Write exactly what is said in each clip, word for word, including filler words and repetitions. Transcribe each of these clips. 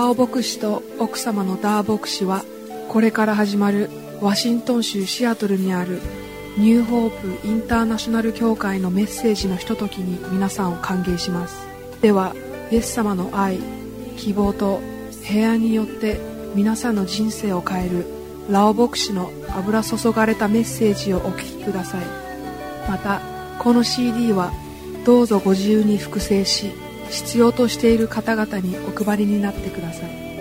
ラオ牧師と奥様のダー牧師は、これから始まるワシントン州シアトルにあるニューホープインターナショナル教会のメッセージのひとときに皆さんを歓迎します。では、イエス様の愛、希望と平安によって皆さんの人生を変えるラオ牧師の油注がれたメッセージをお聞きください。また、この シーディー はどうぞご自由に複製し、必要としている方々にお配りになってください。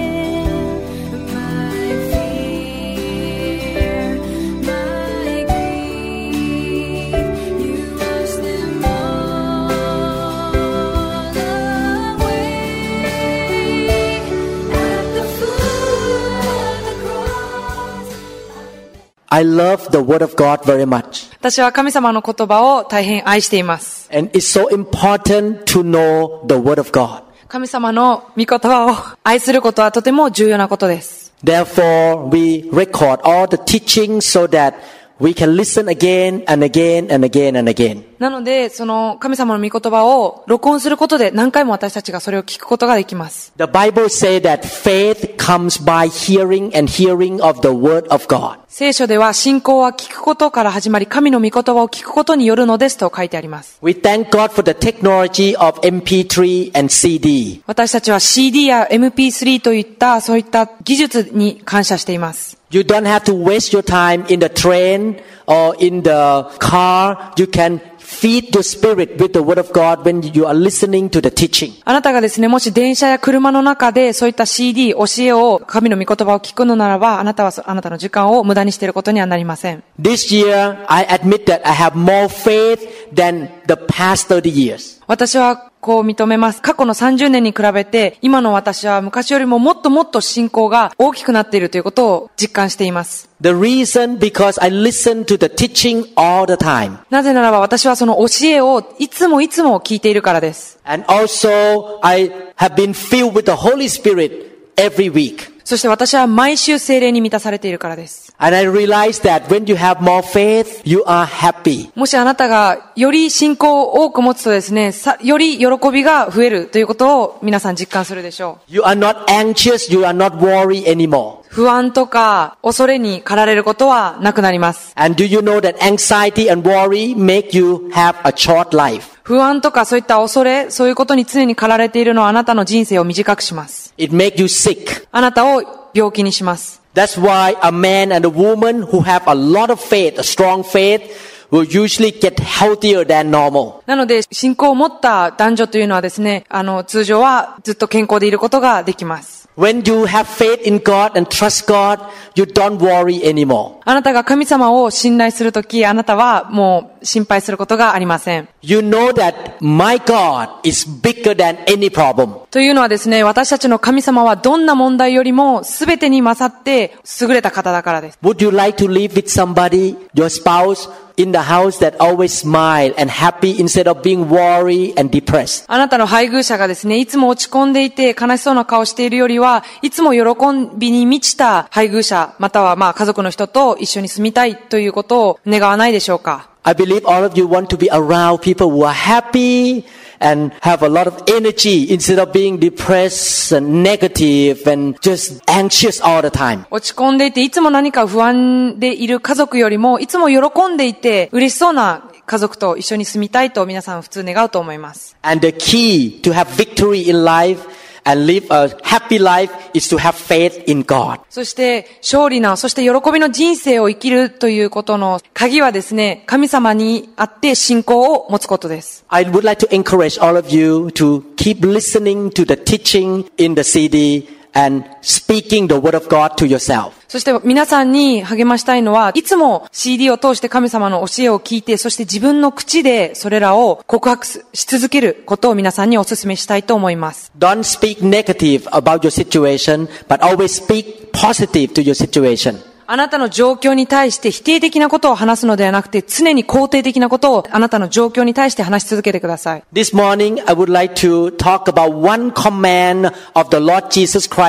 I love the word of God very much. 私は神様の言葉を大変愛しています。 And it's so important to know the word of God. 神様の御言葉を愛することはとても重要なことです。 Therefore, we record all the teachings so that we can listen again and again and again and again. なので、その神様の御言葉を録音することで何回も私たちがそれを聞くことができます。 The Bible says that faith comes by hearing and hearing of the word of God. 聖書では信仰は聞くことから始まり、神の御言葉を聞くことによるのですと書いてあります。 We thank God for the technology of エムピースリー and シーディー. 私たちは シーディー や エムピースリー といったそういった技術に感謝しています。 You don't have to waste your time in the train or in the car. You can feed your spirit with the word of God when you are listening to the teaching. あなたがですね、もし電車や車の中でそういった シーディー、教えを、神の御言葉を聞くのならば、あなたはあなたの時間を無駄にしていることにはなりません。 This year, I admit that I have more faith than the past thirty years. 私はこう認めます。過去のさんじゅうねんに比べて、今の私は昔よりももっともっと信仰が大きくなっているということを実感しています。 The reason because I listen to the teaching all the time. なぜならば私はその教えをいつもいつも聞いているからです。 And also, I have been filled with the Holy Spirit every week. そして私は毎週聖霊に満たされているからです。 And I realize that when you have more faith, you are happy. もしあなたがより信仰を多く持つとですね、さより喜びが増えるということを皆さん実感するでしょう。 You are not anxious, you are not worried anymore. 不安とか恐れに駆られることはなくなります。 And do you know that anxiety and worry make you have a short life? 不安とかそういった恐れ、そういうことに常に駆られているのはあなたの人生を短くします。 It makes you sick. あなたを病気にします。 That's why a man and a woman who have a lot of faith, a strong faith, will usually get healthier than normal. なので、信仰を持った男女というのはですね、あの、通常はずっと健康でいることができます。 When you have faith in God and trust God, you don't worry anymore. あなたが神様を信頼するとき、あなたはもう心配することがありません。 You know that my God is bigger than any problem. というのはですね、私たちの神様はどんな問題よりも全てに勝って優れた方だからです。 Would you like to live with somebody, your spouse, in the house that always smile and happy instead of being worried and depressed? あなたの配偶者がですね、いつも落ち込んでいて悲しそうな顔しているよりは、いつも喜びに満ちた配偶者、またはまあ家族の人と一緒に住みたいということを願わないでしょうか。 I believe all of you want to be around people who are happy and have a lot of energy instead of being depressed and negative and just anxious all the time. 落ち込んでいていつも何か不安でいる家族よりもいつも喜んでいて嬉しそうな家族と一緒に住みたいと皆さん普通願うと思います。 And the key to have victory in life and live a happy life is to have faith in God. そして勝利な、そして喜びの人生を生きるということの鍵はですね、神様にあって信仰を持つことです。 I would like to encourage all of you to keep listening to the teaching in the シーディー and speaking the word of God to yourself. そして皆さんに励ましたいのは、いつも シーディー を通して神様の教えを聞いて、そして自分の口でそれらを告白し続けることを皆さんにお勧めしたいと思います。 Don't speak negative about your situation, but always speak positive to your situation. あなたの状況に対して否定的なことを話すのではなくて、常に肯定的なことをあなたの状況に対して話し続けてください。 This morning, I would like to talk about one command of the Lord Jesus Christ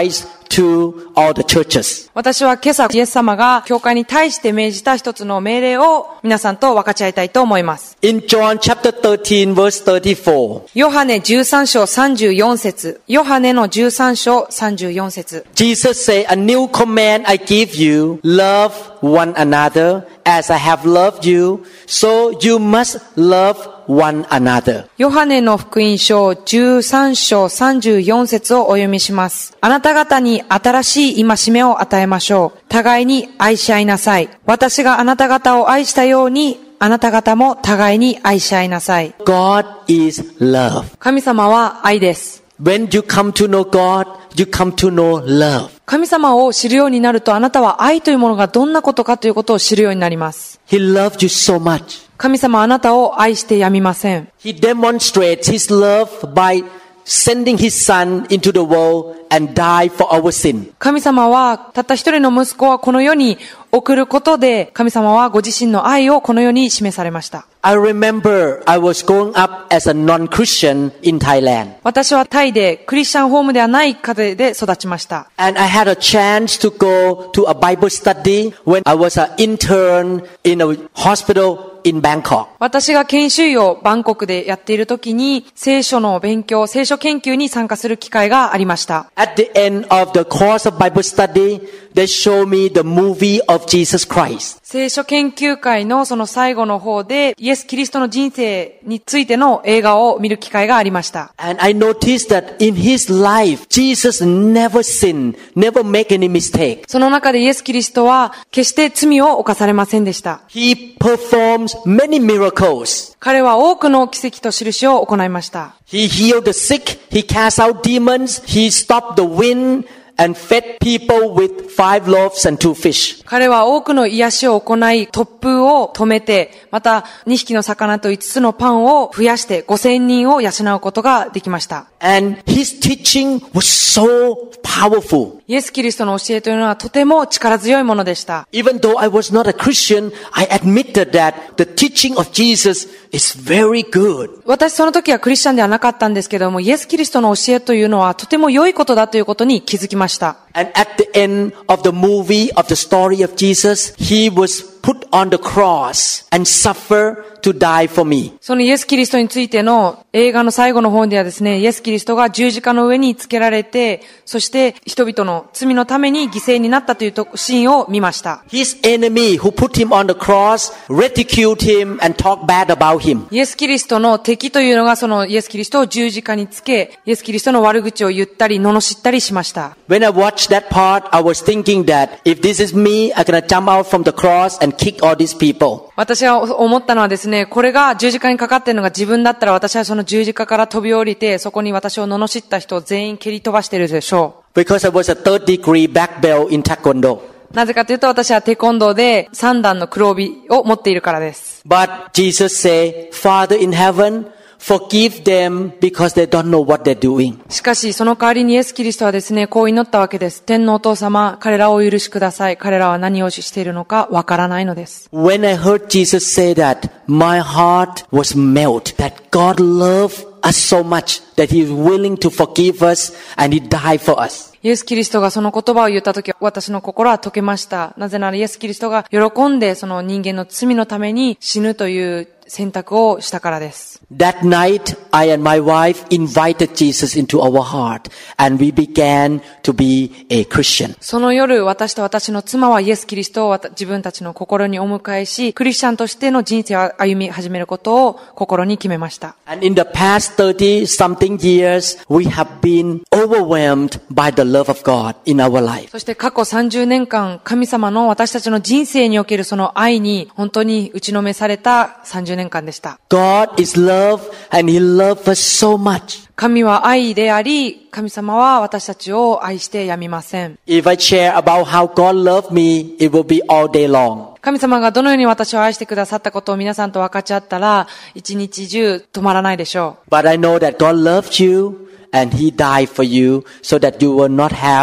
to all the churches. 私は今朝、イエス様が教会に対して命じた一つの命令を皆さんと分かち合いたいと思います。 In John chapter thirteen verse thirty-four, ヨハネじゅうさん章さんじゅうよん節。ヨハネのじゅうさん章さんじゅうよん節。 Jesus said, A new command I give you, love one another as I have loved you, so you must love one another. ヨハネの福音書じゅうさん章さんじゅうよん節をお読みします。あなた方に新しい戒めを与えましょう。互いに愛し合いなさい。私があなた方を愛したように、あなた方も互いに愛し合いなさい。 God is love. 神様は愛です。 When you come to know God, you come to know love. 神様を知るようになると、あなたは愛というものがどんなことかということを知るようになります。 He loved you so much. 神様はあなたを愛してやみません。 He demonstrates His love by sending His Son into the world and die for our sin. 神様は、たった一人の息子はこの世に送ることで、神様はご自身の愛をこの世に示されました。 I remember I was growing up as a non-Christian in Thailand. 私はタイでクリスチャンホームではない家庭で育ちました。 And I had a chance to go to a Bible study when I was an intern in a hospital in Bangkok. 私が研修医をバンコクでやっている時に、聖書の勉強、聖書研究に参加する機会がありました。 At the end of the course of Bible study, they show me the movie of Jesus Christ. 聖書研究会のその最後の方で、イエス・キリストの人生についての映画を見る機会がありました。 And I noticed that in his life, Jesus never sinned, never make any mistake. その中でイエス・キリストは決して罪を犯されませんでした。 He performs many miracles. 彼は多くの奇跡と印を行いました。 He healed the sick, he cast out demons, he stopped the wind, and fed people with five loaves and two fish. 彼は多くの癒しを行い、突風を止めて、またにひきの魚といつつのパンを増やしてごせんにんを養うことができました。 And his teaching was so powerful. イエス・キリストの教えというのはとても力強いものでした。 Even though I was not a Christian, I admitted that the teaching of Jesus is very good. 私その時はクリスチャンではなかったんですけども、イエス・キリストの教えというのはとても良いことだということに気づきました。 And at the end of the movie of the story of Jesus, he was put on the cross and suffer to die for me. そのイエス・キリストについての映画の最後の方ではですね、イエス・キリストが十字架の上につけられて、そして人々の罪のために犠牲になったというシーンを見ました。 His enemy who put him on the cross ridiculed him and talked bad about him. イエス・キリストの敵というのがそのイエス・キリストを十字架につけ、イエス・キリストの悪口を言ったり、罵ったりしました。 When I watched that part, I was thinking that if this is me, I'm gonna jump out from the cross and kick all these people. 私が思ったのはですね、これが十字架にかかっているのが自分だったら、私はその十字架から飛び降りて、そこに私を罵った人を全員蹴り飛ばしているでしょう。Because I was a third degree black belt in Taekwondo. なぜかというと、私はテコンドーで三段の黒帯を持っているからです。 But Jesus said, Father in heaven, forgive them because they don't know what they're doing. しかし、その代わりにイエス・キリストはですね、こう祈ったわけです。天のお父様、彼らをお許しください。彼らは何をしているのかわからないのです。 When I heard Jesus say that, my heart was melted. That God loved us so much that He is willing to forgive us and He died for us. イエス・キリストがその言葉を言ったとき、私の心は溶けました。なぜならイエス・キリストが喜んでその人間の罪のために死ぬという選択をしたからです。 That night, I and my wife invited Jesus into our heart and we began to be a Christian. その夜、私と私の妻はイエス・キリストを自分たちの心にお迎えし、クリスチャンとしての人生を歩み始めることを心に決めました。 And in the past thirty something years, we have been overwhelmed by the love of God in our life. そして過去さんじゅうねんかん、神様の私たちの人生におけるその愛に本当に打ちのめされたさんじゅうねんかんでした。 God is love and He loves us so much. 神は愛であり、神様は私たちを愛してやみません。 If I share about how God loved me, it will be all day long. 神様がどのように私を愛してくださったことを皆さんと分かち合ったら、一日中止まらないでしょう。 But I know that God loved you and He died for you so that you will not have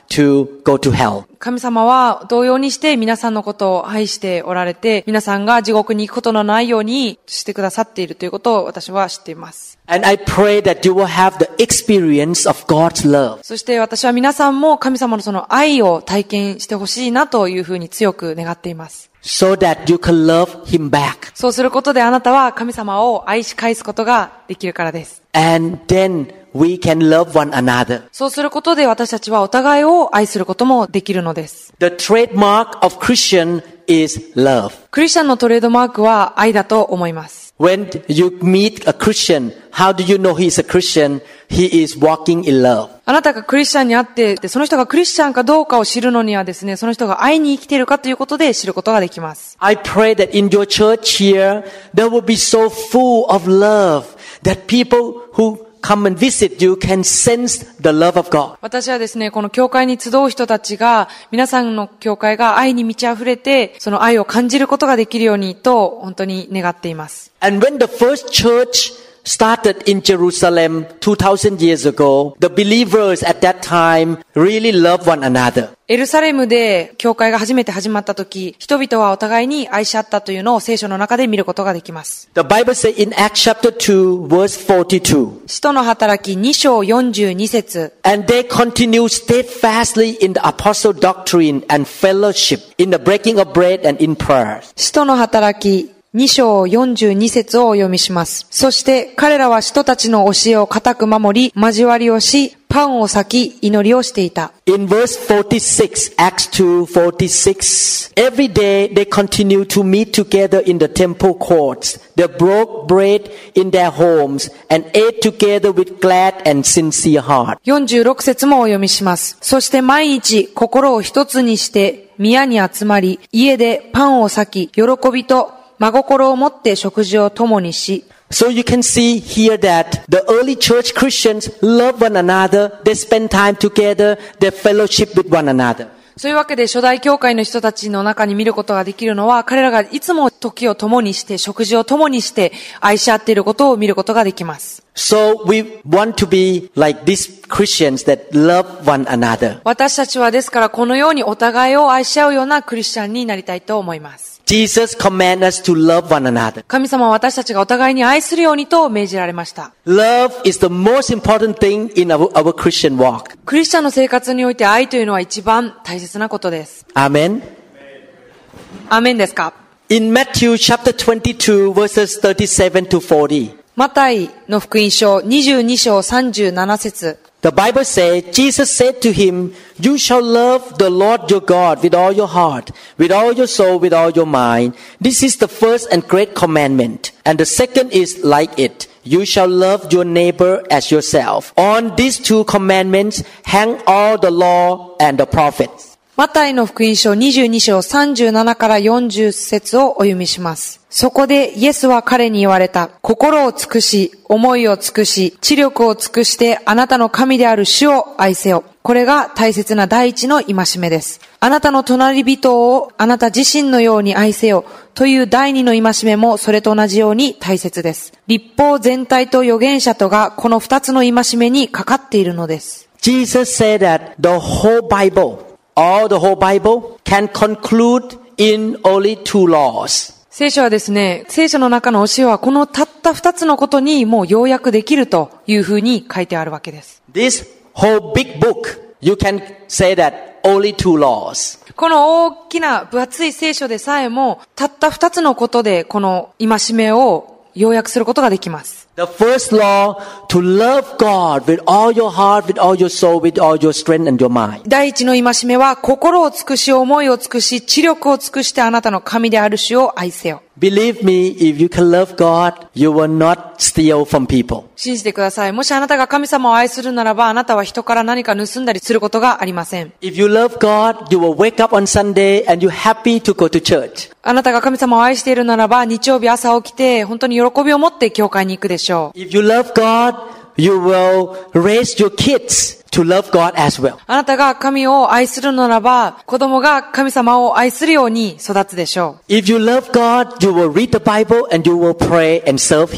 to go to hell. 神様は同様にして皆さんのことを愛しておられて、皆さんが地獄に行くことのないようにしてくださっているということを私は知っています。 And I pray that you will have the experience of God's love. そして私は皆さんも神様のその愛を体験してほしいなというふうに強く願っています。 So that you can love Him back. そうすることであなたは神様を愛し返すことができるからです。 And then we can love one another. そうすることで私たちはお互いを愛することもできるのです。 The trademark of Christian is love. クリスチャンのトレードマークは愛だと思います。 When you meet a Christian, how do you know he is a Christian? He is walking in love. あなたがクリスチャンに会って、でその人がクリスチャンかどうかを知るのにはですね、その人が愛に生きているかということで知ることができます。 I pray that in your church here, there will be so full of love that people who come and visit you can sense the love of God. 私はですね、この教会に集う人たちが、皆さんの教会が愛に満ち溢れて、その愛を感じることができるようにと、本当に願っています。 And when the first church started in Jerusalem two thousand years ago, the believers at that time really loved one another. エルサレムで教会が初めて始まった時、人々はお互いに愛し合ったというのを聖書の中で見ることができます。 The Bible says in Acts chapter two, verse forty-two. 使徒の働きに章よんじゅうに節。 And they continued steadfastly in the apostle doctrine and fellowship, in the breaking of bread and in prayer. 使徒の働きに章よんじゅうに節をお読みします。そして彼らは使徒たちの教えを固く守り、交わりをし、パンを裂き、祈りをしていた。 In verse forty-six, Acts two forty-six, every day they continued to meet together in the temple courts. They broke bread in their homes and ate together with glad and sincere heart. よんじゅうろく節もお読みします。そして毎日心を一つにして宮に集まり、家でパンを裂き、喜びと真心を持って食事を共にし。 So you can see here that the early church Christians love one another, they spend time together, they fellowship with one another. そういうわけで初代教会の人たちの中に見ることができるのは、彼らがいつも時を共にして、食事を共にして愛し合っていることを見ることができます。 So we want to be like these Christians that love one another. 私たちはですからこのようにお互いを愛し合うようなクリスチャンになりたいと思います。 Jesus commands us to love one another. 神様は私たちがお互いに愛するようにと命じられました。 Love is the most important thing in our, our Christian walk. クリスチャンの生活において愛というのは一番大切なことです。 Amen. アーメンですか？ In Matthew chapter twenty-two verses thirty-seven to forty. マタイの福音書にじゅうに章さんじゅうなな節。 The Bible says, Jesus said to him, You shall love the Lord your God with all your heart, with all your soul, with all your mind. This is the first and great commandment. And the second is like it. You shall love your neighbor as yourself. On these two commandments hang all the law and the prophets. マタイの福音書にじゅうに章さんじゅうななからよんじゅう節をお読みします。そこでイエスは彼に言われた。心を尽くし、思いを尽くし、知力を尽くしてあなたの神である主を愛せよ。これが大切な第一の戒めです。あなたの隣人をあなた自身のように愛せよという第二の戒めもそれと同じように大切です。律法全体と預言者とがこの二つの戒めにかかっているのです。 Jesus said that the whole Bible, all the whole Bible can conclude in only two laws. 聖書はですね、聖書の中の教えはこのたった二つのことにもう要約できるというふうに書いてあるわけです。 This whole big book, you can say that only two laws. この大きな分厚い聖書でさえもたった二つのことでこの戒めを要約することができます。 The first law, to love God with all your heart, with all your soul, with all your strength and your mind. 第一の戒めは心を尽くし、思いを尽くし、知力を尽くしてあなたの神である主を愛せよ。 Believe me, if you can love God, you will not steal from people. 信じてください。もしあなたが神様を愛するならば、あなたは人から何か盗んだりすることがありません。 If you love God, you will wake up on Sunday and you're happy to go to church. あなたが神様を愛しているならば、日曜日朝起きて、本当に喜びを持って教会に行くでしょう。 If you love God, you will raise your kids to love God as well. あなたが神を愛するならば、子供が神様を愛するように育つでしょう。 If you love God, you will read the Bible and you will pray and serve Him.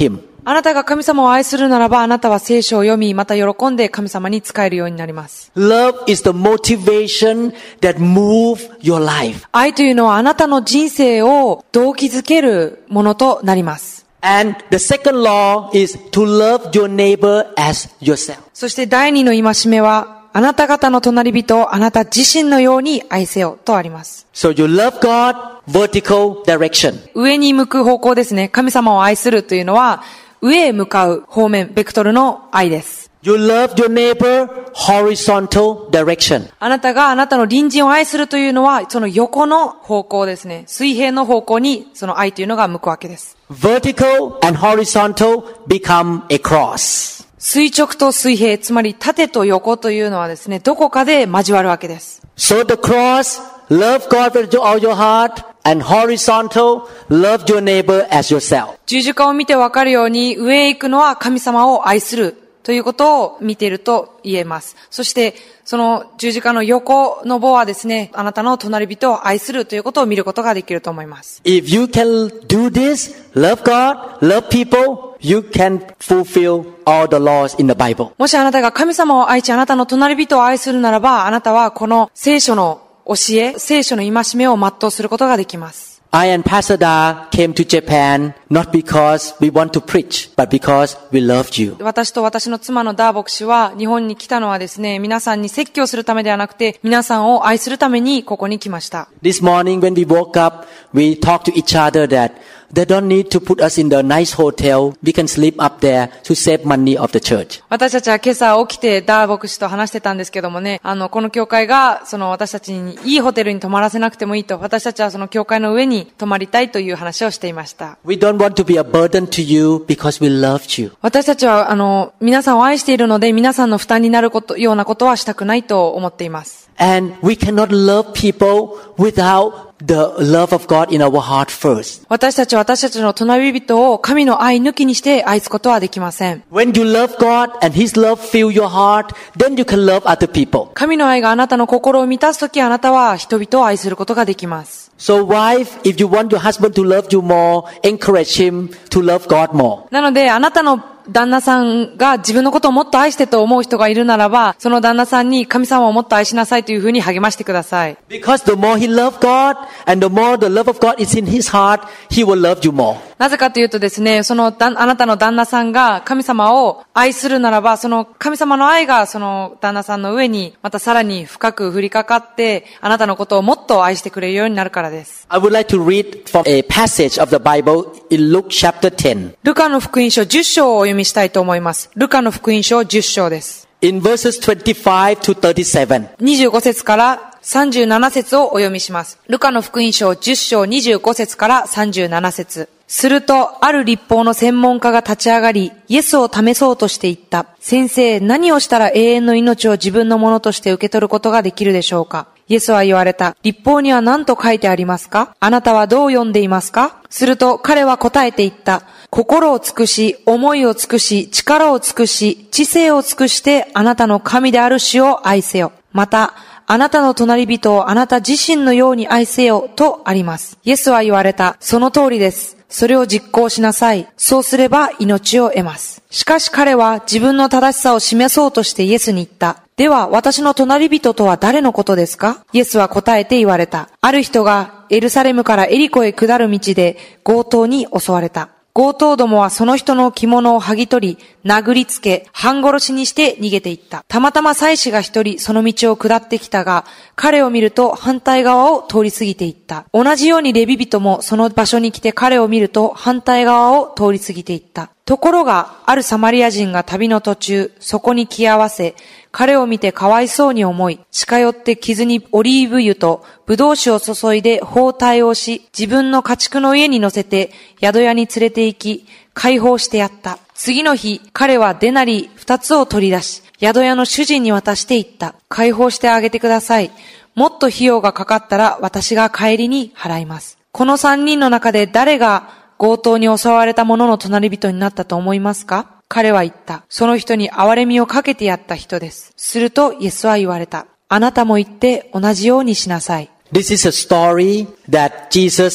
あなたが神様を愛するならば、あなたは聖書を読み、また喜んで神様に仕えるようになります。 Love is the motivation that move your life. 愛というのはあなたの人生を動機づけるものとなります。 And the second law is to love your neighbor as yourself. そして第二の戒めは、あなた方の隣人をあなた自身のように愛せよとあります。 So you love God, vertical direction. 上に向く方向ですね。神様を愛するというのは、上へ向かう方面、ベクトルの愛です。 You love your neighbor, horizontal direction. あなたがあなたの隣人を愛するというのは、その横の方向ですね。水平の方向にその愛というのが向くわけです。 Vertical and horizontal become a cross. 垂直と水平、つまり縦と横というのはですね、どこかで交わるわけです。 So the cross, love God with all your heart, and horizontal, love your neighbor as yourself. 十字架を見てわかるように、上へ行くのは神様を愛するということを見ていると言えます。そして、その十字架の横の棒はですね、あなたの隣人を愛するということを見ることができると思います。 If you can do this, love God, love people, you can fulfill all the laws in the Bible. もしあなたが神様を愛し、あなたの隣人を愛するならば、あなたはこの聖書の教え、聖書の戒めを全うすることができます。 I and Pastor Da came to Japan not because we want to preach, but because we loved you. 私と私の妻のダー牧師は日本に来たのはですね、皆さんに説教するためではなくて、皆さんを愛するためにここに来ました。 This morning when we woke up, we talked to each other that they don't need to put us in the nice hotel. We can sleep up there to save money of the church. 私たちは今朝起きてダー牧師と話してたんですけどもね、あの、この教会が、その私たちにいいホテルに泊まらせなくてもいいと、私たちはその教会の上に泊まりたいという話をしていました。 We don't want to be a burden to you because we loved you. 私たちは、あの、皆さんを愛しているので、皆さんの負担になること、ようなことはしたくないと思っています。 And we cannot love people without the love of God in our heart first. 私たちは私たちの隣人を神の愛抜きにして愛すことはできません。 When you love God and His love fill your heart, then you can love other people. 神の愛があなたの心を満たすとき、あなたは人々を愛することができます。 So wife, if you want your husband to love you more, encourage him to love God more. なので、あなたの旦那さんが自分のことをもっと愛してと思う人がいるならば、その旦那さんに神様をもっと愛しなさいというふうに励ましてください。 Because the more he loves God and the more the love of God is in his heart, he will love you more. なぜかというとですね、そのあなたの旦那さんが神様を愛するならば、その神様の愛がその旦那さんの上にまたさらに深く降りかかって、あなたのことをもっと愛してくれるようになるからです。 I would like to read from a passage of the Bible in Luke chapter ten. ルカの福音書じゅっ章をお読みしたいと思います。ルカの福音書じゅっ章です。 In verses twenty-five to thirty-seven. にじゅうご節からさんじゅうなな節をお読みします。ルカの福音書じゅっ章にじゅうご節からさんじゅうなな節。すると、ある律法の専門家が立ち上がり、イエスを試そうとして言った。先生、何をしたら永遠の命を自分のものとして受け取ることができるでしょうか？イエスは言われた。律法には何と書いてありますか？あなたはどう読んでいますか？すると彼は答えて言った。心を尽くし、思いを尽くし、力を尽くし、知性を尽くしてあなたの神である主を愛せよ。また、あなたの隣人をあなた自身のように愛せよとあります。イエスは言われた。その通りです。それを実行しなさい。そうすれば命を得ます。しかし彼は自分の正しさを示そうとしてイエスに言った。では私の隣人とは誰のことですか？イエスは答えて言われた。ある人がエルサレムからエリコへ下る道で強盗に襲われた。強盗どもはその人の着物を剥ぎ取り、殴りつけ、半殺しにして逃げていった。たまたま祭司が一人その道を下ってきたが、彼を見ると反対側を通り過ぎていった。同じようにレビ人もその場所に来て彼を見ると反対側を通り過ぎていった。ところが、あるサマリア人が旅の途中、そこに来合わせ、彼を見てかわいそうに思い、近寄って傷にオリーブ油とブドウ酒を注いで包帯をし、自分の家畜の家に乗せて宿屋に連れて行き、解放してやった。次の日、彼はデナリ二つを取り出し、宿屋の主人に渡して言った。解放してあげてください。もっと費用がかかったら私が帰りに払います。この三人の中で誰が強盗に襲われた者の隣人になったと思いますか？彼は言った。その人に憐れみをかけてやった人です。するとイエスは言われた。あなたも言って同じようにしなさい。 This is a story that Jesus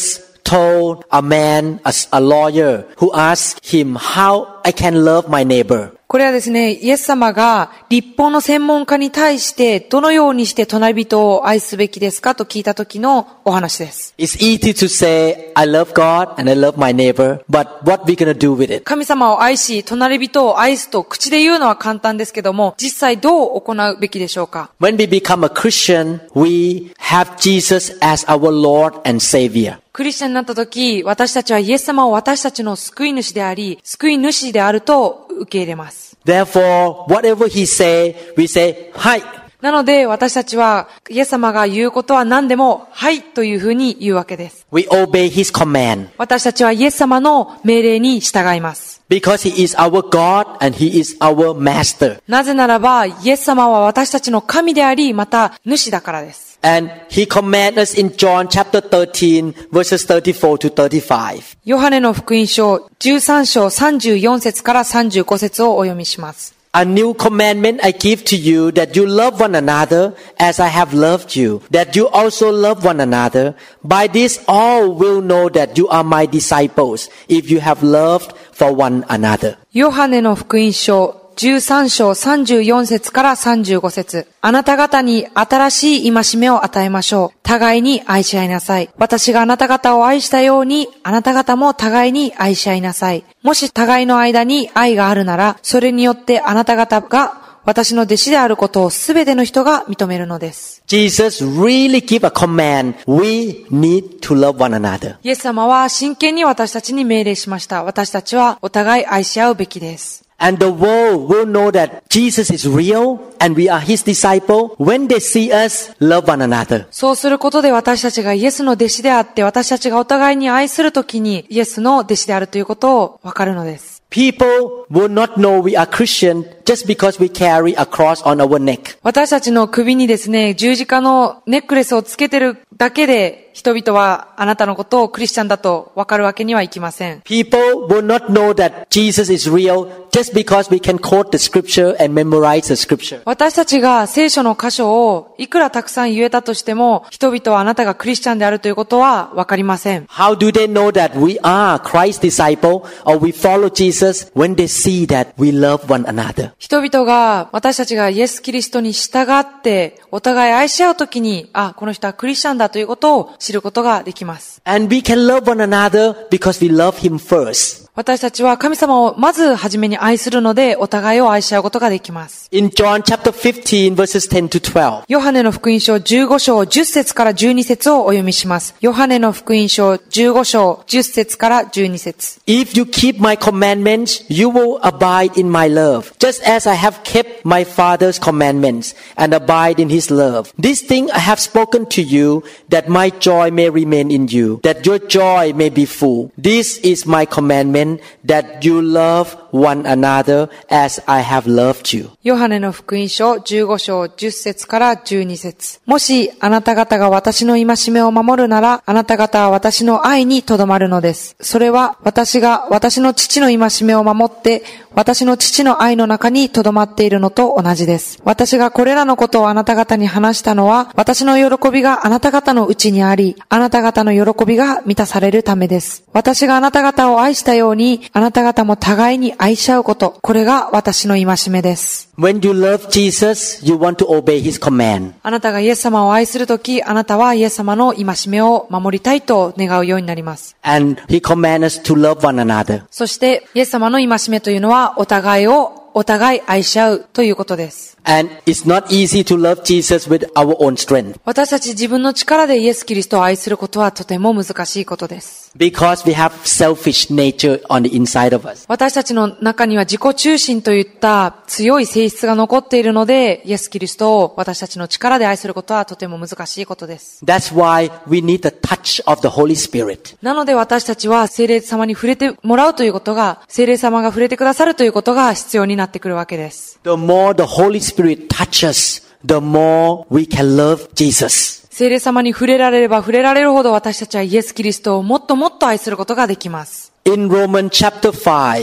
told a man, a, a lawyer, who asked him how I can love my neighbor. これはですね、イエス様が立法の専門家に対してどのようにして隣人を愛すべきですかと聞いた時のお話です。 It's easy to say, I love God and I love my neighbor, but what we gonna do with it? 神様を愛し、隣人を愛すと口で言うのは簡単ですけども、実際どう行うべきでしょうか？ When we become a Christian, we have Jesus as our Lord and Savior. クリスチャンになった時、私たちはイエス様を私たちの救い主であり、救い主であると受け入れます。 Therefore, whatever he say, we say, はい。 なので私たちはイエス様が言うことは何でもはいというふうに言うわけです。 We obey his command. 私たちはイエス様の命令に従います。 Because he is our God and he is our master. なぜならばイエス様は私たちの神であり、また主だからです。 And he commanded us in John chapter thirteen verses thirty-four to thirty-five. ヨハネの福音書じゅうさん章さんじゅうよん節からさんじゅうご節をお読みします。 A new commandment I give to you, that you love one another as I have loved you, that you also love one another. By this all will know that you are my disciples, if you have loved for one another. ヨハネの福音書じゅうさん章さんじゅうよん節からさんじゅうご節。あなた方に新しい戒めを与えましょう。互いに愛し合いなさい。私があなた方を愛したように、あなた方も互いに愛し合いなさい。もし互いの間に愛があるなら、それによってあなた方が私の弟子であることをすべての人が認めるのです。 Jesus really give a command. We need to love one another. イエス様は真剣に私たちに命令しました。私たちはお互い愛し合うべきです。 And the world will know that Jesus is real and we are his disciple when they see us love one another. そうすることで私たちがイエスの弟子であって、私たちがお互いに愛するときにイエスの弟子であるということをわかるのです。 People will not know we are Christian just because we carry a cross on our neck. 私たちの首にですね、十字架のネックレスをつけてるだけで、人々はあなたのことをクリスチャンだと分かるわけにはいきません。 People will not know that Jesus is real just because we can quote the scripture and memorize the scripture. 私たちが聖書の箇所をいくらたくさん言えたとしても、人々はあなたがクリスチャンであるということは分かりません。 How do they know that we are Christ's disciple or we follow Jesus when they see that we love one another? 人々が私たちがイエス・キリストに従ってお互い愛し合うときに、あ、この人はクリスチャンだということを知ることができます。 And we can love one another because we love him first. 私たちは神様をまずはじめに愛するので、お互いを愛し合うことができます。 In John chapter fifteen verses ten to twelve. ヨハネの福音書じゅうご章じゅっ節からじゅうに節をお読みします。ヨハネの福音書じゅうご章じゅっ節からじゅうに節。 If you keep my commandments, you will abide in my love, just as I have kept my Father's commandments and abide in his love. This thing I have spoken to you, that my joy may remain in you, that your joy may be full. This is my commandment, that you love one another as I have loved you. ヨハネの福音書じゅうご章じゅっ節からじゅうに節。もしあなた方が私の戒めを守るなら、あなた方は私の愛にとどまるのです。それは私が私の父の戒めを守って、私の父の愛の中にとどまっているのと同じです。私がこれらのことをあなた方に話したのは、私の喜びがあなた方のうちにあり、あなた方の喜びが満たされるためです。私があなた方を愛したように、あなた方も互いに愛し合うこと、これが私の戒めです。 When you love Jesus, you want to obey his command. あなたがイエス様を愛するとき、あなたはイエス様の戒めを守りたいと願うようになります。 And he commands us to love one another. そしてイエス様の戒めというのは、お互いをお互い愛し合うということです。 And it's not easy to love Jesus with our own strength. 私たち自分の力でイエス・キリストを愛することはとても難しいことです。 Because we have selfish nature on the inside of us. 私たちの中には自己中心といった強い性質が残っているので、イエス・キリストを私たちの力で愛することはとても難しいことです。 That's why we need the touch of the Holy Spirit. なので私たちは聖霊様に触れてもらうということが、聖霊様が触れてくださるということが必要になってくるわけです。 The more the Holy Spirit touches, the more we can love Jesus. 聖霊様に触れられれば触れられるほど私たちはイエス・キリストをもっともっと愛することができます。 In Romans chapter five,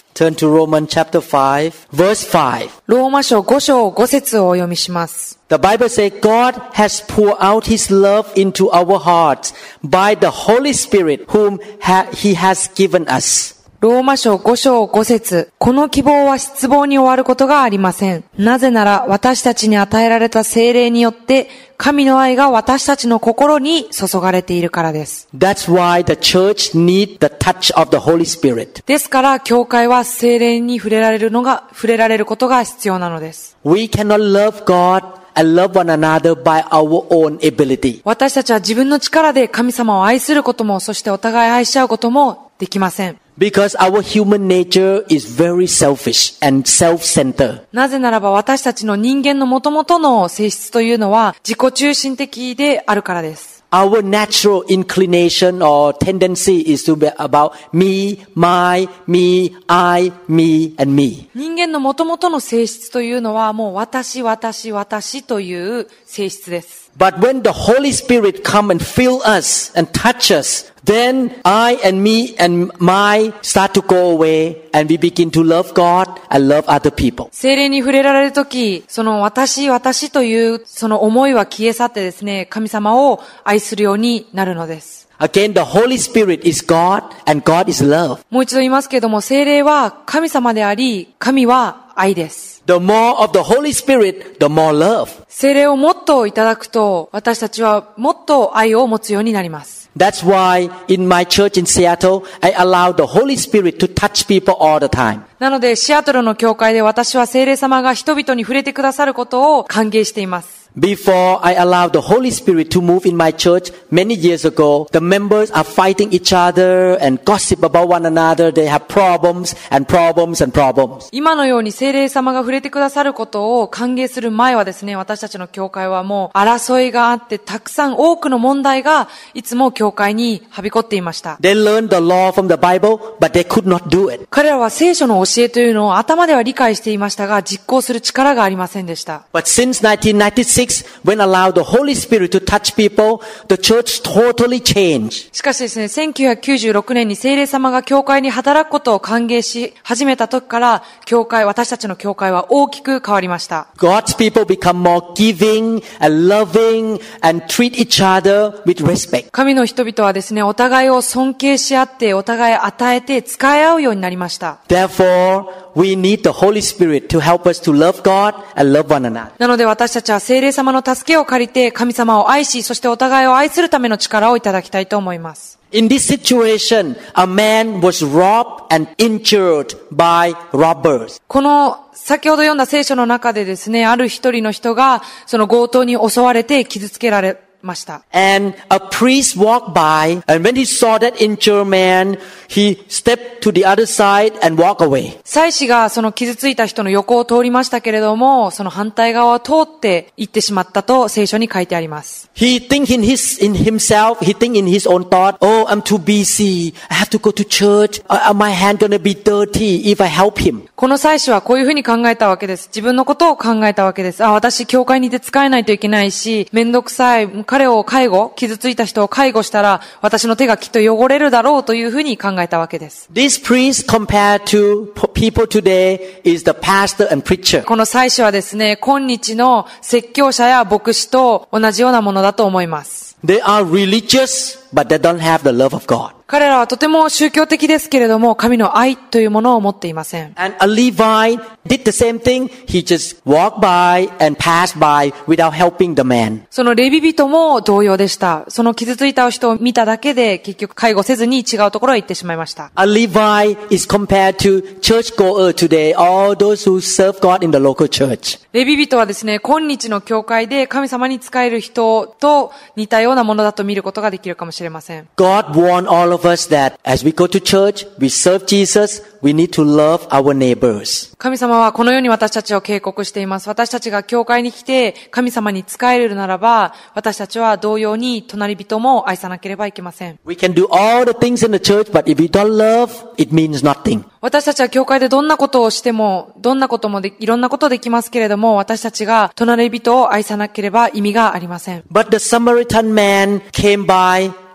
Turn to Romans chapter five, verse five. ローマ書ご章ご節をお読みします。 The Bible says God has poured out His love into our hearts by the Holy Spirit whom ha- He has given us. ローマ書ご章ご節。この希望は失望に終わることがありません。なぜなら私たちに与えられた聖霊によって神の愛が私たちの心に注がれているからです。 That's why the church needs the touch of the Holy Spirit. ですから教会は聖霊に触れられるのが触れられることが必要なのです。 We cannot love God and love one another by our own ability. 私たちは自分の力で神様を愛することも、そしてお互い愛し合うこともできません。 Because our human nature is very selfish and self-centered. なぜならば私たちの人間の元々の性質というのは自己中心的であるからです。 Our natural inclination or tendency is to be about me, my, me, I, me, and me. 人間の元々の性質というのはもう私、私、私という性質です。 But when the Holy Spirit come and fill us and touch us, then I and me and my start to go away and we begin to love God and love other people. 聖霊に触れられるとき、その私、私というその思いは消え去ってですね、神様を愛するようになるのです。 Again, the Holy Spirit is God and God is love. もう一度言いますけれども、聖霊は神様であり、神は愛です。 The more of the Holy Spirit, the more love. 聖霊をもっといただくと、私たちはもっと愛を持つようになります。 That's why in my church in Seattle, I allow the Holy Spirit to touch people all the time. なので、シアトルの教会で私は聖霊様が人々に触れてくださることを歓迎しています。 Before I allowed the Holy Spirit to move in my church many years ago, the members are fighting each other and gossip about one another. They have problems and problems and problems. 今のように聖霊様が触れてくださることを歓迎する前はですね、私たちの教会はもう争いがあって、たくさん多くの問題がいつも教会にはびこっていました。 They learned the law from the Bible, but they could not do it. 彼らは聖書の教えというのを頭では理解していましたが、実行する力がありませんでした。 But since nineteen ninety-six, when allowed the Holy Spirit to touch people, the church totally changed. しかしですね、せんきゅうひゃくきゅうじゅうろくねんに聖霊様が教会に働くことを歓迎し始めた時から、教会、私たちの教会は大きく変わりました。 God's people become more giving and loving and treat each other with respect. 神の人々はですね、お互いを尊敬し合って、お互い与えて使い合うようになりました。 Therefore, we need the Holy Spirit to help us to love God and love one another. なので私たちは聖霊様の助けを借りて神様を愛し、そしてお互いを愛するための力をいただきたいと思います。 In this situation, a man was robbed and injured by robbers. この先ほど読んだ聖書の中でですね、ある一人の人がその強盗に襲われて傷つけられました。 And a priest walked by, and when he saw that injured man, he stepped to the other side and walked away. 祭司がその傷ついた人の横を通りましたけれども、その反対側を通って行ってしまったと聖書に書いてあります。 He think in his in himself, he think in his own thought, oh, I'm too busy. I have to go to church. Uh, my hand gonna be dirty if I help him. この祭司はこういうふうに考えたわけです。自分のことを考えたわけです。あ、私教会にいて使えないといけないし、めんどくさい。彼を介護、傷ついた人を介護したら、私の手がきっと汚れるだろうというふうに考えたわけです。 This priest compared to people today is the pastor and preacher. この祭司はですね、今日の説教者や牧師と同じようなものだと思います。 They are religious, but they don't have the love of God. 彼らはとても宗教的ですけれども、神の愛というものを持っていません。 And a Levite did the same thing. He just walked by and passed by without helping the man. そのレビ人も同様でした。その傷ついた人を見ただけで結局介護せずに違うところへ行ってしまいました。 A Levite is compared to churchgoer today, all those who serve God in the local church. レビ人はですね、今日の教会で神様に仕える人と似たようなものだと見ることができるかもしれません。 God warned all of us that as we go to church, we serve Jesus, we need to love our neighbors. 神様はこのように私たちを警告しています。私たちが教会に来て神様に仕えるならば、私たちは同様に隣人も愛さなければいけません。 We can do all the things in the church, but if we don't love, it means nothing. 私たちは教会でどんなことをしても、どんなこともで、いろんなことできますけれども、私たちが隣人を愛さなければ意味がありません。 But the Samaritan man came by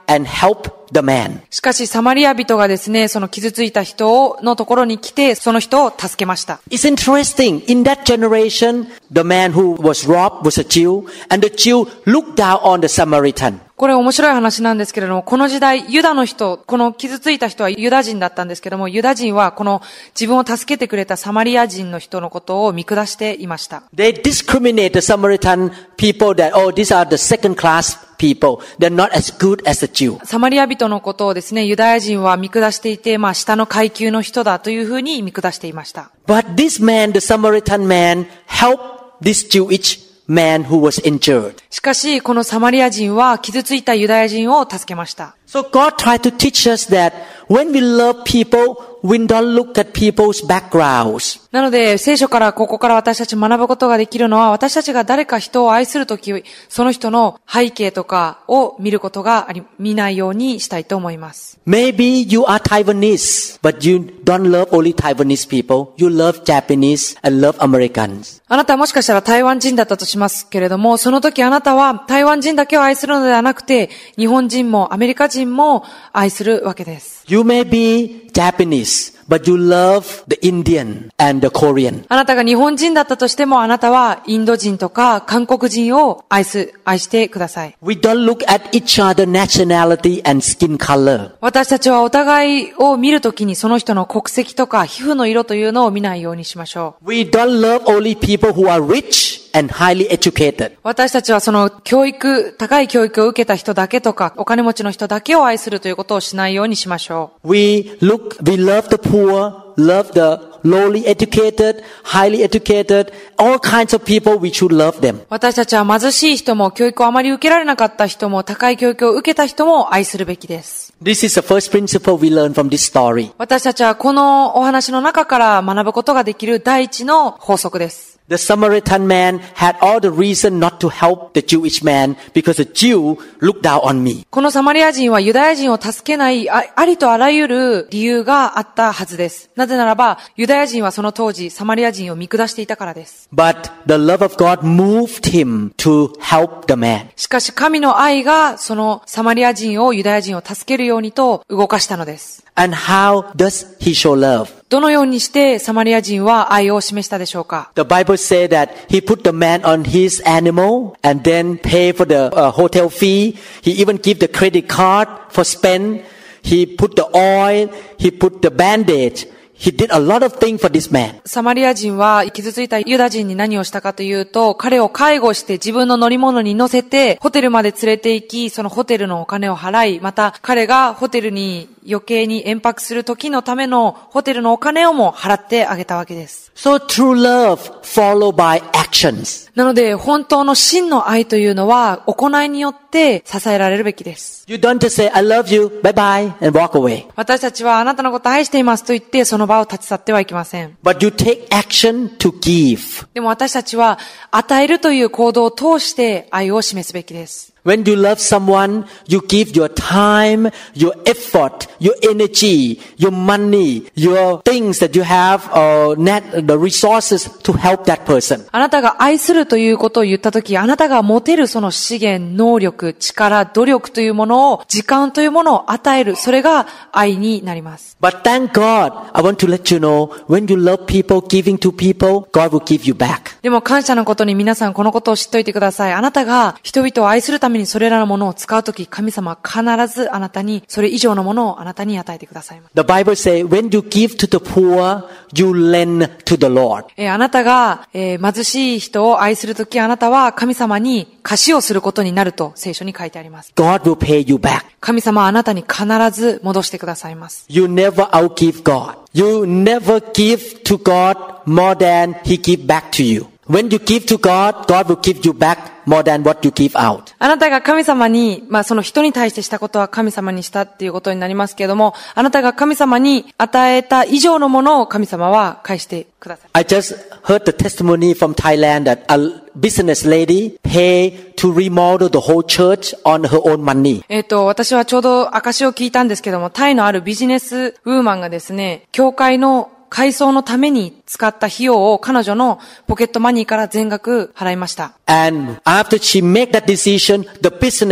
and help the man. しかしサマリア人がですね、その傷ついた人のところに来て、その人を助けました。 It's interesting. In that generation, the man who was robbed was a Jew, and the Jew looked down on the Samaritan. これ面白い話なんですけれども、この時代、ユダの人、この傷ついた人はユダ人だったんですけども、ユダ人はこの自分を助けてくれたサマリア人の人のことを見下していました。 They discriminate the Samaritan people that, oh, these are the second class people. They're not as good as the Jew. サマリア人のことをですね、ユダヤ人は見下していて、まあ下の階級の人だというふうに見下していました。 But this man, the Samaritan man, helped this Jewish man who was injured. しかし、このサマリア人は傷ついたユダヤ人を助けました。 So God tried to teach us that when we love people, we don't look at people's backgrounds. なので、聖書からここから私たち学ぶことができるのは、私たちが誰か人を愛するとき、その人の背景とかを見ることがあり、見ないようにしたいと思います。 Maybe you are Taiwanese, but you don't love only Taiwanese people. You love Japanese and love Americans. あなたはもしかしたら台湾人だったとしますけれども、その時あなたは台湾人だけを愛するのではなくて、日本人もアメリカ人も愛するわけです。 You may be Japanese, but you love the Indian and the Korean. あなたが日本人だったとしても、あなたはインド人とか韓国人を愛す、愛してください。 We don't look at each other nationality and skin color. 私たちはお互いを見るときにその人の国籍とか皮膚の色というのを見ないようにしましょう。 We don't love only people who are rich and highly educated. 私たちはその教育、高い教育を受けた人だけとか、お金持ちの人だけを愛するということをしないようにしましょう。 We look, we love the poor, love the lowly educated, highly educated, all kinds of people, we should love them. 私たちは貧しい人も、教育をあまり受けられなかった人も、高い教育を受けた人も愛するべきです。 This is the first principle we learn from this story. 私たちはこのお話の中から学ぶことができる第一の法則です。 The Samaritan man had all the reason not to help the Jewish man because the Jew looked down on me. このサマリア人はユダヤ人を助けない あ, ありとあらゆる理由があったはずです。なぜならば、ユダヤ人はその当時サマリア人を見下していたからです。 But the love of God moved him to help the man. しかし神の愛がそのサマリア人をユダヤ人を助けるようにと動かしたのです。 And how does he show love? どのようにしてサマリア人は愛を示したでしょうか？ The Bible says that he put the man on his animal and then pay for the uh, hotel fee. He even give the credit card for spend. He put the oil. He put the bandage.He did a lot of things for this man. サマリア人は傷ついたユダ人に何をしたかというと、彼を介護して自分の乗り物に乗せてホテルまで連れて行き、そのホテルのお金を払い、また彼がホテルに余計に延泊する時のためのホテルのお金をも払ってあげたわけです。 So true love followed by actions. なので本当の真の愛というのは行いによって支えられるべきです。 You don't just say, I love you, bye bye, and walk away. 私たちはあなたのことを愛していますと言ってその場を立ち去ってはいけません。 But you take action to give. でも私たちは与えるという行動を通して愛を示すべきです。 When you love someone, you give your time, your effort, your energy, your money, your things that you have, uh, net, the resources to help that person. あなたが愛するということを言ったとき、あなたが持てるその資源、能力、力、努力というものを、時間というものを与える。それが愛になります。 But thank God, I want to let you know, when you love people, giving to people, God will give you back. でも感謝のことに皆さんこのことを知っておいてください。あなたが人々を愛するためにそれらのものを使うとき、神様は必ずあなたに、それ以上のものをあなたに与えてくださいます。 The Bible says, when you give to the poor, you lend to the Lord. えー、あなたが、えー、貧しい人を愛するとき、あなたは神様に貸しをすることになると聖書に書いてあります。 God will pay you back. 神様はあなたに必ず戻してくださいます。 You never outgive God. You never give to God more than He give back to you. When you give to God, God will give you back more than what you give out. あなたが神様に、まあその人に対してしたことは神様にしたっていうことになりますけれども、あなたが神様に与えた以上のものを神様は返してください。 I just heard the testimony from Thailand that a business lady paid to remodel the whole church on her own money. えっと、私はちょうど証を聞いたんですけども、タイのあるビジネスウーマンがですね、教会の改装のために使った費用を彼女のポケットマニーから全額払いました。 And after she made that decision, the business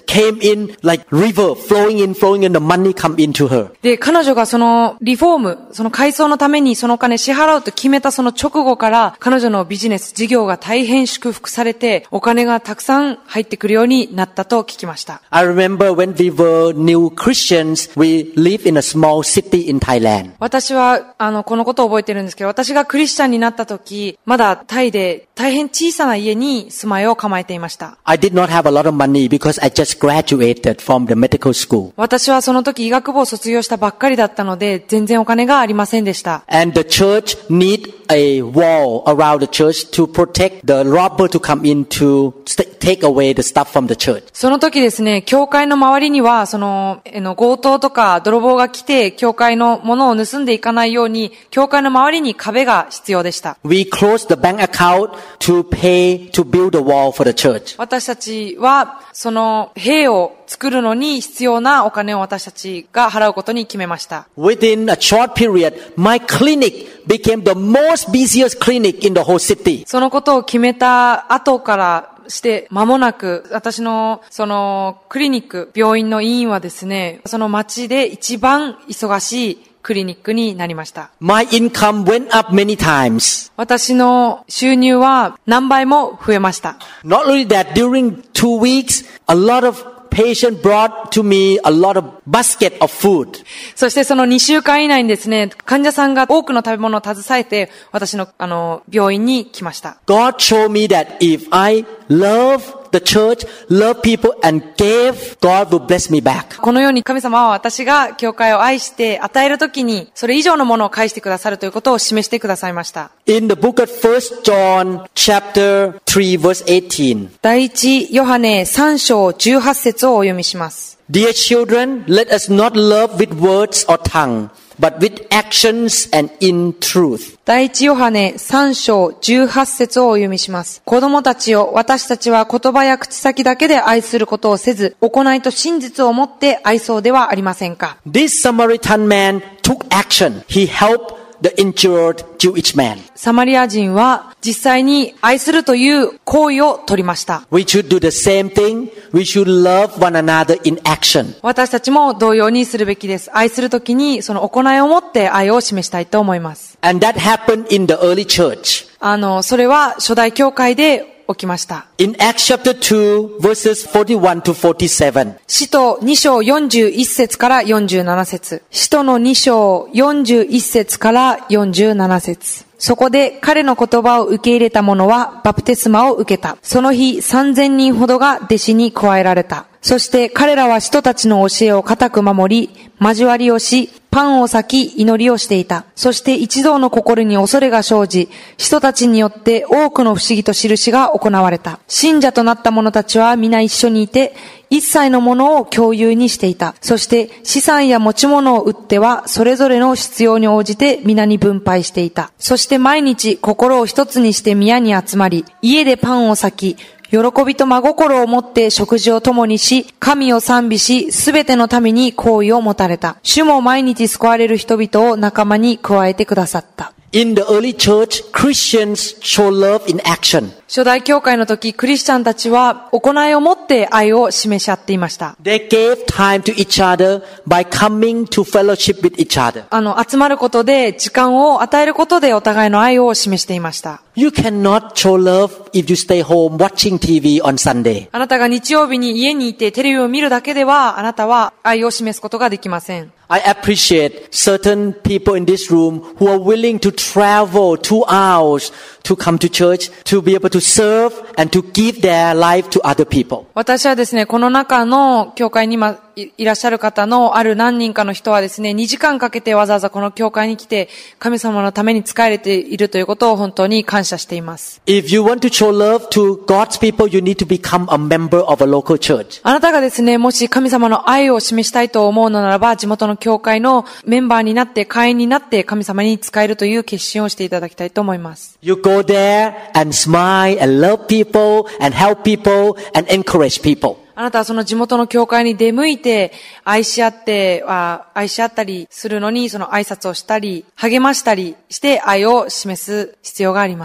came in like river, flowing in, flowing in, the money come into her. で、彼女がそのリフォーム、その改装のためにそのお金支払うと決めたその直後から、彼女のビジネス、事業が大変祝福されて、お金がたくさん入ってくるようになったと聞きました。 I remember when we were new Christians, we lived in a small city in Thailand. 私は、あの、このことを覚えてるんですけど、私がクリスチャンになった時、まだタイで大変小さな家に住まいを構えていました。 I did not have a lot of money because I just graduated from the medical school. 私はその時医学部を卒業したばっかりだったので、全然お金がありませんでした。 And the church need a wall around the church to protect the robber to come in to take away the stuff from the church. その時ですね、教会の周りには、その、えの強盗とか泥棒が来て、教会のものを盗んでいかないように、教会の周りに壁が必要でした。 We closed the bank account to pay to build a wall for the church. 私たちは、その塀を作るのに必要なお金を私たちが払うことに決めました。 Within a short period, my clinic became the most busiest clinic in the whole city. そのことを決めた後からして間もなく、私のそのクリニック、病院の医院はですね、その町で一番忙しいクリニックになりました。 My income went up many times. 私の収入は何倍も増えました。 Not only that, during two weeks, a lot of patient brought to me a lot of basket of food. そしてそのにしゅうかん以内にですね、患者さんが多くの食べ物を携えて、私のあの病院に来ました。 God showed me that if I love the church, love people and gave, God will bless me back. このように神様は私が教会を愛して与えるときに、それ以上のものを返してくださるということを示してくださいました。 In the book of First John chapter three verse eighteen. 第一ヨハネさん章じゅうはち節をお読みします。 Dear children, let us not love with words or tongue, but with actions and in truth. 第一ヨハネさん章じゅうはち節をお読みします。子供たちよ、私たちは言葉や口先だけで愛することをせず、行いと真実をもって愛そうではありませんか。 This Samaritan man took action. He helped the injured Jewish man. サマリア人は実際に愛するという行為を取りました。 We should do the same thing. We should love one another in action. 私たちも同様にするべきです。愛するときにその行いをもって愛を示したいと思います。 And that happened in the early church. あの、それは初代教会で起きました。 In Acts chapter two verses forty-one to forty-seven. 使徒に章よんじゅういち節からよんじゅうなな節。使徒のに章よんじゅういち節からよんじゅうなな節。そこで彼の言葉を受け入れた者はバプテスマを受けた。その日さんぜんにんほどが弟子に加えられた。そして彼らは使徒たちの教えを固く守り、交わりをし、パンを裂き祈りをしていた。そして一同の心に恐れが生じ、使徒たちによって多くの不思議と印が行われた。信者となった者たちは皆一緒にいて、一切のものを共有にしていた。そして資産や持ち物を売っては、それぞれの必要に応じて皆に分配していた。そして毎日心を一つにして宮に集まり、家でパンを裂き、喜びと真心を持って食事を共にし、神を賛美し、すべてのために好意を持たれた。主も毎日救われる人々を仲間に加えてくださった。 In the early church, Christians show love in action. 初代教会の時、クリスチャンたちは行いをもって愛を示し合っていました。 They gave time to each other by coming to fellowship with each other. あの、集まることで、時間を与えることでお互いの愛を示していました。 You cannot show love if you stay home watching T V on Sunday. あなたが日曜日に家にいてテレビを見るだけでは、あなたは愛を示すことができません。 I appreciate certain people in this room who are willing to travel two hours to come to church to be able to serve and to give their life to other people. 私はですね、この中の教会に今いらっしゃる方のある何人かの人はですね、にじかんかけてわざわざこの教会に来て神様のために仕えているということを本当に感謝しています。 If you want to show love to God's people, you need to become a member of a local church. あなたがですね、もし神様の愛を示したいと思うのならば、地元の教会のメンバーになって、会員になって神様に仕えるという決心をしていただきたいと思います。 You go there and smile and love people and help people and encourage people. あなたはその地元の教会に出向いて、愛し合って、愛し合ったりするのに、その挨拶をしたり、励ましたりして愛を示す必要があります。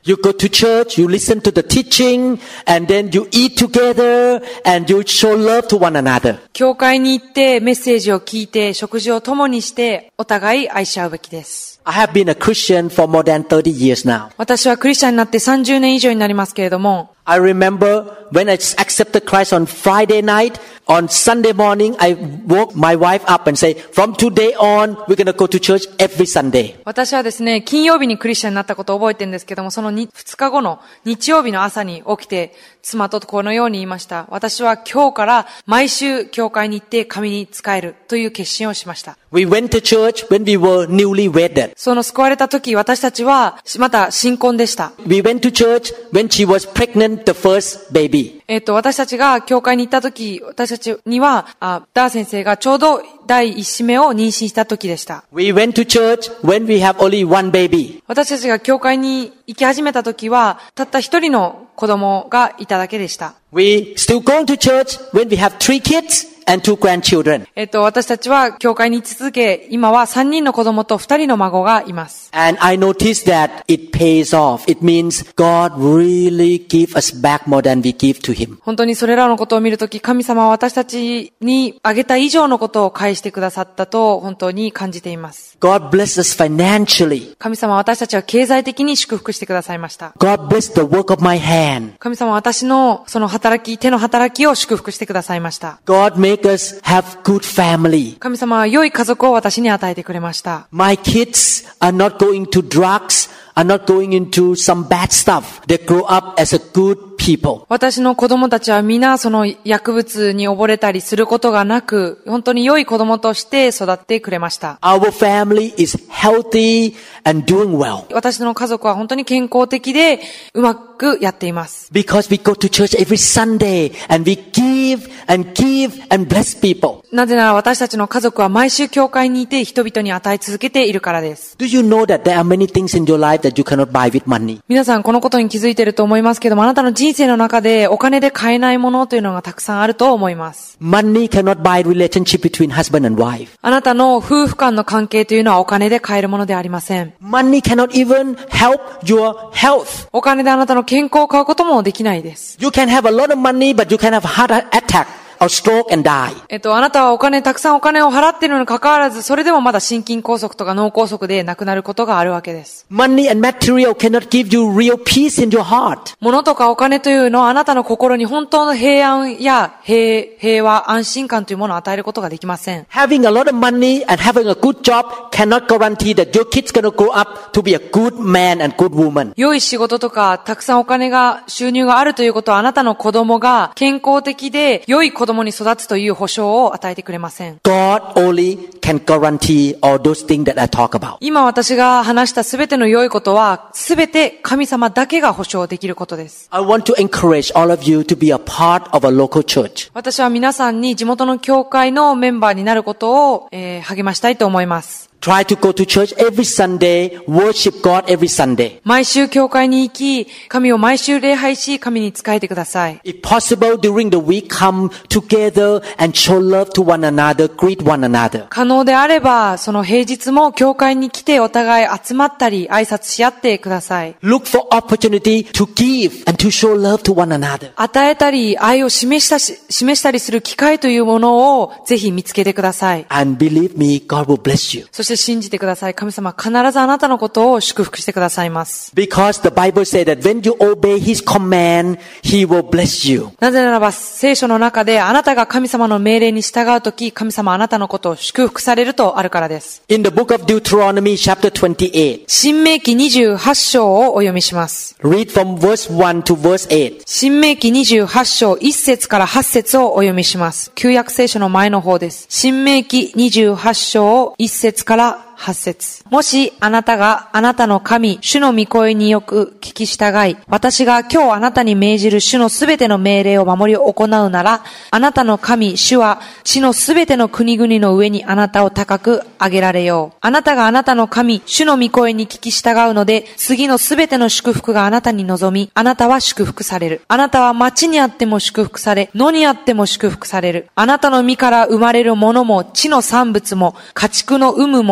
You go to church, you listen to the teaching, and then you eat together, and you show love to one another. 教会に行ってメッセージを聞いて食事を共にしてお互い愛し合うべきです。 I have been a Christian for more than thirty years now. 私はクリスチャンになってさんじゅうねん以上になりますけれども、 I remember when I accepted Christ on Friday night, on Sunday morning, I woke my wife up and say, from today on, we're going to go to church every Sunday. 私はですね、金曜日にクリスチャンになったことを覚えてるんですけども、そのふつかごの日曜日の朝に起きて、妻とこのように言いました。私は今日から毎週教会に行って神に仕えるという決心をしました。 We went to church when we were newly wedded. その救われた時、私たちはまた新婚でした。 We went to church when she was pregnant, the first baby. えっと、私たちが教会に行った時、私たちには、あダー先生がちょうど第一子目を妊娠した時でした。 We went to church when we have only one baby. 私たちが教会に行き始めた時は、たった一人の子供がいただけでした。 We still go to church when we have three kids and two grandchildren. えっと、私たちは教会に行き続け、今は三人の子供と二人の孫がいます。 And I noticed that it pays off. It means God really give us back more than we give to Him. 本当にそれらのことを見るとき、神様は私たちにあげた以上のことを返してくださったと本当に感じています。 God bless us financially. 神様は私たちは経済的に祝福してくださいました。 God bless the work of my hand. 神様は私のその働き、手の働きを祝福してくださいました。 God make us have good family. 神様は良い家族を私に与えてくれました。 My kids are not going to drugs, are not going into some bad stuff. They grow up as a good people. 私の子供たちは皆その薬物に溺れたりすることがなく、本当に良い子供として育ってくれました。 Our family is healthy and doing well. 私の家族は本当に健康的でうまくやっています。 Because we go to church every Sunday and we give and give and bless people. なぜなら私たちの家族は毎週教会にいて人々に与え続けているからです。 Do you know that there are many things in your life that you cannot buy with money? 皆さんこのことに気づいていると思いますけども、あなたの人生の中でお金で買えないものというのがたくさんあると思います。 Money cannot buy relationship between husband and wife. あなたの夫婦間の関係というのはお金で買えるものではありません。 Money cannot even help your health. お金であなたの健康を買うこともできないです。 You can have a lot of money, but you can have a heart attack.or stroke and die. えっと、あなたはお金、たくさんお金を払っているのに関わらず、それでもまだ心筋梗塞とか脳梗塞で亡くなることがあるわけです。 Money and material cannot give you real peace in your heart. 物とかお金というのはあなたの心に本当の平安や平、平和、安心感というものを与えることができません。 Having a lot of money and having a good job cannot guarantee that your kids gonna grow up to be a good man and good woman. 良い仕事とか、たくさんお金が、収入があるということはあなたの子供が健康的で良い子供に育つという保証を与えてくれません。 God only can guarantee all those things that I talk about. 今私が話したすべての良いことは、すべて神様だけが保証できることです。 I want to encourage all of you to be a part of a local church. 私は皆さんに地元の教会のメンバーになることを、えー、励ましたいと思います。 Try to go to church every Sunday, worship God every Sunday. 毎週教会に行き、神を毎週礼拝し、神に仕えてください。 If possible, during the week, come together and show love to one another, greet one another. 可能であれば、その平日も教会に来てお互い集まったり、挨拶し合ってください。 Look for opportunity to give and to show love to one another. 与えたり、愛を示したし、示したりする機会というものをぜひ見つけてください。 And believe me, God will bless you. そして信じてください。神様は必ずあなたのことを祝福してくださいます。 Because the Bible says that when you obey His command, He will bless you. なぜならば聖書の中であなたが神様の命令に従うとき、神様はあなたのことを祝福されるとあるからです。 In the book of Deuteronomy chapter twenty-eight. 新明記にじゅうはち章をお読みします。 Read from verse one to verse eight. 新明記にじゅうはち章いち節からはち節をお読みします。旧約聖書の前の方です。新明記にじゅうはち章いち節からはち節。もしあなたがあなたの神、主の御声によく聞き従い、私が今日あなたに命じる主のすべての命令を守り行うなら、あなたの神、主は地のすべての国々の上にあなたを高く上げられよう。あなたがあなたの神、主の御声に聞き従うので、次のすべての祝福があなたに望み、あなたは祝福される。あなたは町にあっても祝福され、野にあっても祝福される。あなたの身から生まれるものも、地の産物も、家畜の産むもの、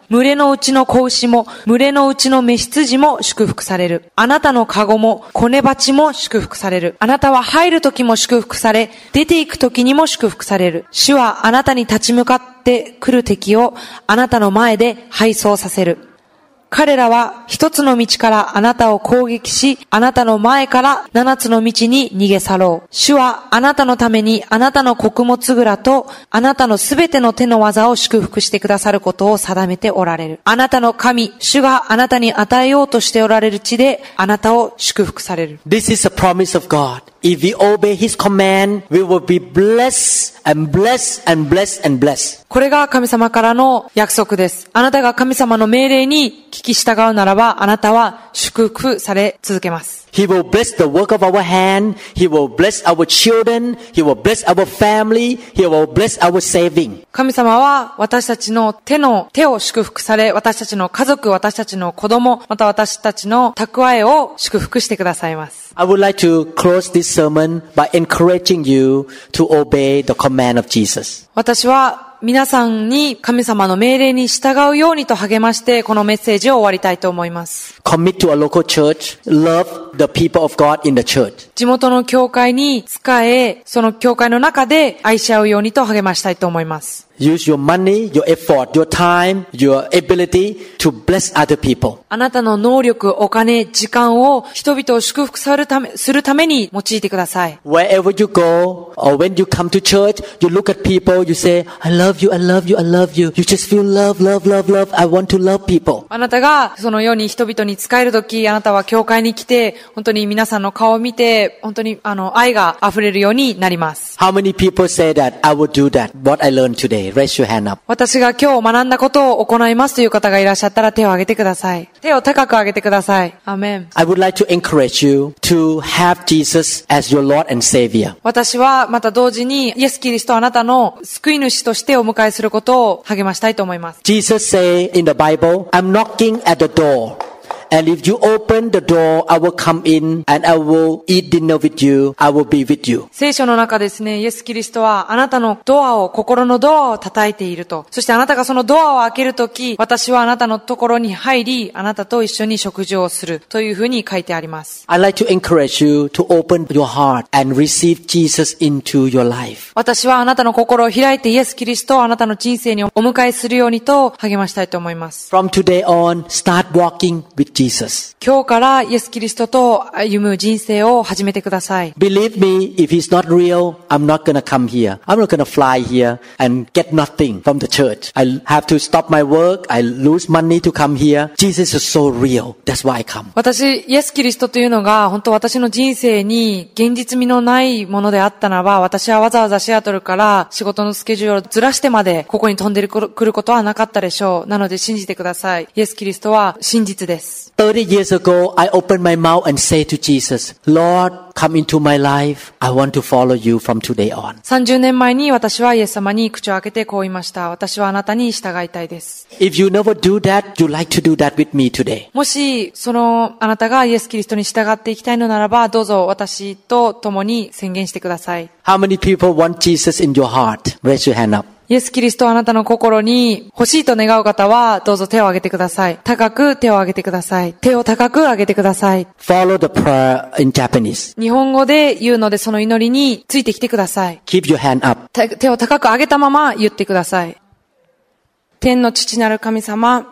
群れのうちの子牛も、群れのうちの雌羊も祝福される。あなたの籠も、子根鉢も祝福される。あなたは入る時も祝福され、出て行く時にも祝福される。主はあなたに立ち向かって来る敵をあなたの前で敗走させる。彼らは一つの道からあなたを攻撃し、あなたの前から七つの道に逃げ去ろう。主はあなたのためにあなたの穀物蔵とあなたのすべての手の技を祝福してくださることを定めておられる。あなたの神、主があなたに与えようとしておられる地であなたを祝福される。 This is a promise of God. If we obey His command, we will be blessed and blessed and blessed and blessed. これが神様からの約束です。あなたが神様の命令に聞き従うならば、あなたは祝福され続けます。 He will bless the work of our hand. He will bless our children. He will bless our family. He will bless our saving. 神様は私たちの手の手を祝福され、私たちの家族、私たちの子供、また私たちの蓄えを祝福してくださいます。 I would like to close this sermon by encouraging you to obey the command of Jesus. 私は皆さんに神様の命令に従うようにと励ましてこのメッセージを終わりたいと思います。 Commit to a local church. Love the people of God in the church. 地元の教会に仕え、その教会の中で愛し合うようにと励ましたいと思います。 Use your money, your effort, your time, your ability to bless other people. あなたの能力、お金、時間を人々を祝福するため、するために用いてください。 Wherever you go or when you come to church, you look at people, you say, I love you, I love you, I love you. You just feel love, love, love, love. I want to love people. あなたがそのように人々に仕えるとき、あなたは教会に来て、本当に皆さんの顔を見て、本当にあの愛が溢れるようになります。 How many people say that I will do that? What I learned today. Raise your hand up. 私が今日学んだことを行いますという方がいらっしゃったら手を挙げてください。手を高く上げてください。アーメン。 I would like to encourage you to have Jesus as your Lord and Savior. 私はまた同時にイエス・キリストをあなたの救い主としてお迎えすることを励ましたいと思います。 Jesus say in the Bible, I'm knocking at the door.And if you open the door, I will come in and I will eat dinner with you. I will be with you. 聖書の中ですね、イエス・キリストはあなたのドアを、心のドアを叩いていると。そしてあなたがそのドアを開けるとき、私はあなたのところに入り、あなたと一緒に食事をするというふうに書いてあります。 I'd like to encourage you to open your heart and receive Jesus into your life. 私はあなたの心を開いてイエス・キリストをあなたの人生にお迎えするようにと励ましたいと思います。 From today on, start walking with Jesus. 今日からイエス・キリストと歩む人生を始めてください。 Believe me, if he's not real, I'm not gonna come here. I'm not gonna fly here and get nothing from the church. I have to stop my work. I lose money to come here. Jesus is so real. That's why I come. 私、イエス・キリストというのが本当私の人生に現実味のないものであったならば、私はわざわざシアトルから仕事のスケジュールをずらしてまでここに飛んでくることはなかったでしょう。なので信じてください。イエス・キリストは真実です。 thirty years ago, I opened my mouth and say to Jesus, Lord, come into my life. I want to follow you from today on. さんじゅうねんまえに私はイエス様に口を開けてこう言いました。私はあなたに従いたいです。 If you never do that, you like to do that with me today. もし、その、あなたがイエス・キリストに従っていきたいのならば、どうぞ私と共に宣言してください。 How many people want Jesus in your heart? Raise your hand up. イエス・キリストをあなたの心に欲しいと願う方は、どうぞ手を挙げてください。高く手を挙げてください。手を高く上げてください。 Follow the prayer in Japanese. 日本語で言うので、その祈りについてきてください。 Keep your hand up. 手を高く上げたまま言ってください。天の父なる神様、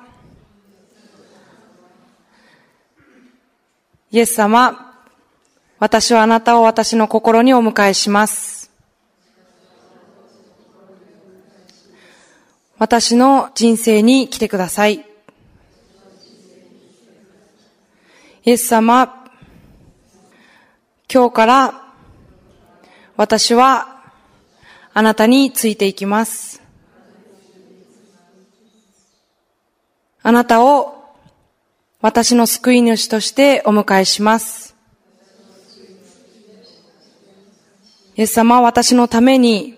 イエス様、私はあなたを私の心にお迎えします。私の人生に来てください。イエス様、今日から私はあなたについていきます。あなたを私の救い主としてお迎えします。イエス様は私のために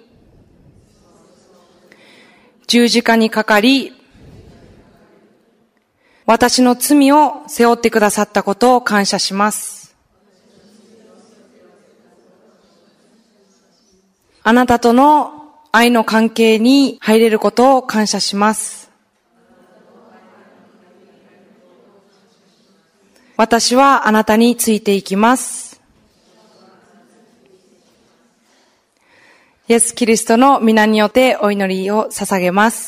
十字架にかかり、私の罪を背負ってくださったことを感謝します。あなたとの愛の関係に入れることを感謝します。 私はあなたについていきます。イエス・キリストの皆によってお祈りを捧げます。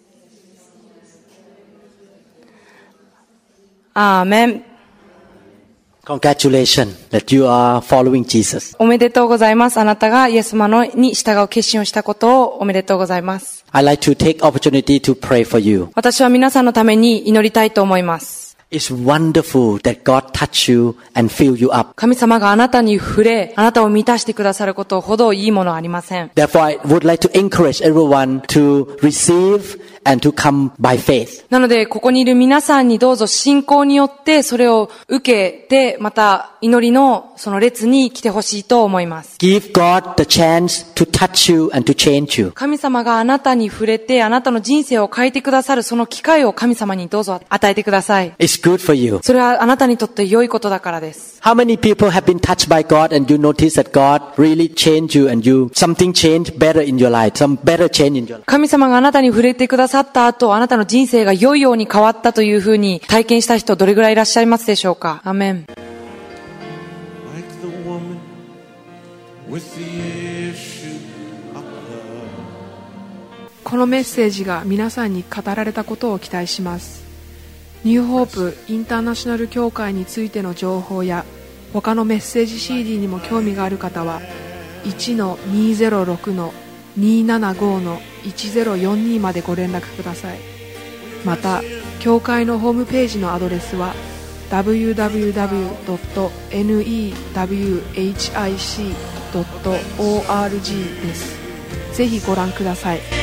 アーメン。 Congratulations that you are following Jesus. おめでとうございます。あなたがイエス様のに従う決心をしたことをおめでとうございます。 I'd like to take opportunity to pray for you. 私は皆さんのために祈りたいと思います。 It's wonderful that God touch you and fill you up. 神様があなたに触れ、あなたを満たしてくださることほどいいものはありません。 Therefore, I would like to encourage everyone to receive and to come by faith. なので、ここにいる皆さんにどうぞ信仰によってそれを受けて、また祈りのその列に来てほしいと思います。 Give God the chance to touch you and to change you. 神様があなたに触れて、あなたの人生を変えてくださるその機会を神様にどうぞ与えてください。 It's good for you. それはあなたにとって良いことだからです。 How many people have been touched by God and you notice that God really changed you and you, something changed better in your life, some better change in your life? 神様があなたに触れてくださった後、あなたの人生が良いように変わったというふうに体験した人どれぐらいいらっしゃいますでしょうか。アーメン。 Like the woman with the issue of blood. このメッセージが皆さんに語られたことを期待します。ニューホープインターナショナル協会についての情報や他のメッセージ シーディー にも興味がある方は いちのにゼロろくのにななごのいちゼロよんに までご連絡ください。また協会のホームページのアドレスは ダブリューダブリューダブリュードットネットヒックです。ぜひご覧ください。